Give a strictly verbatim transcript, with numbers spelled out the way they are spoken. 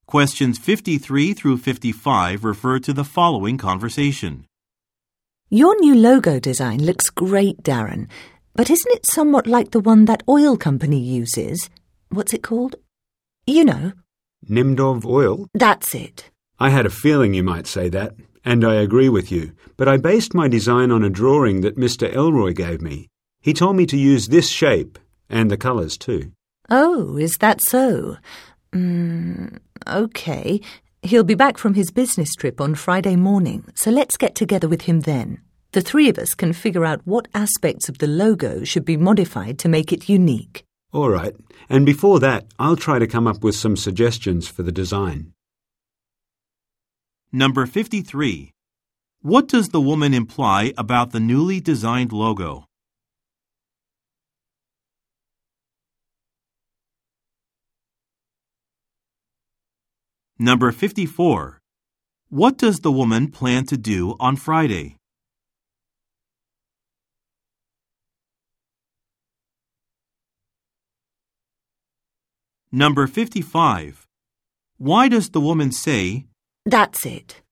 Questions fifty-three through fifty-five refer to the following conversation. Your new logo design looks great, Darren, but isn't it somewhat like the one that oil company uses? What's it called? You know. Nimdov Oil? That's it. I had a feeling you might say that, and I agree with you, but I based my design on a drawing that Mister Elroy gave me. He told me to use this shape, and the colours too. Oh, is that so? Mm, okay. He'll be back from his business trip on Friday morning, so let's get together with him then. The three of us can figure out what aspects of the logo should be modified to make it unique. All right, and before that, I'll try to come up with some suggestions for the design. Number fifty-three. What does the woman imply about the newly designed logo? Number fifty-four. What does the woman plan to do on Friday? Number fifty-five. Why does the woman say, That's it.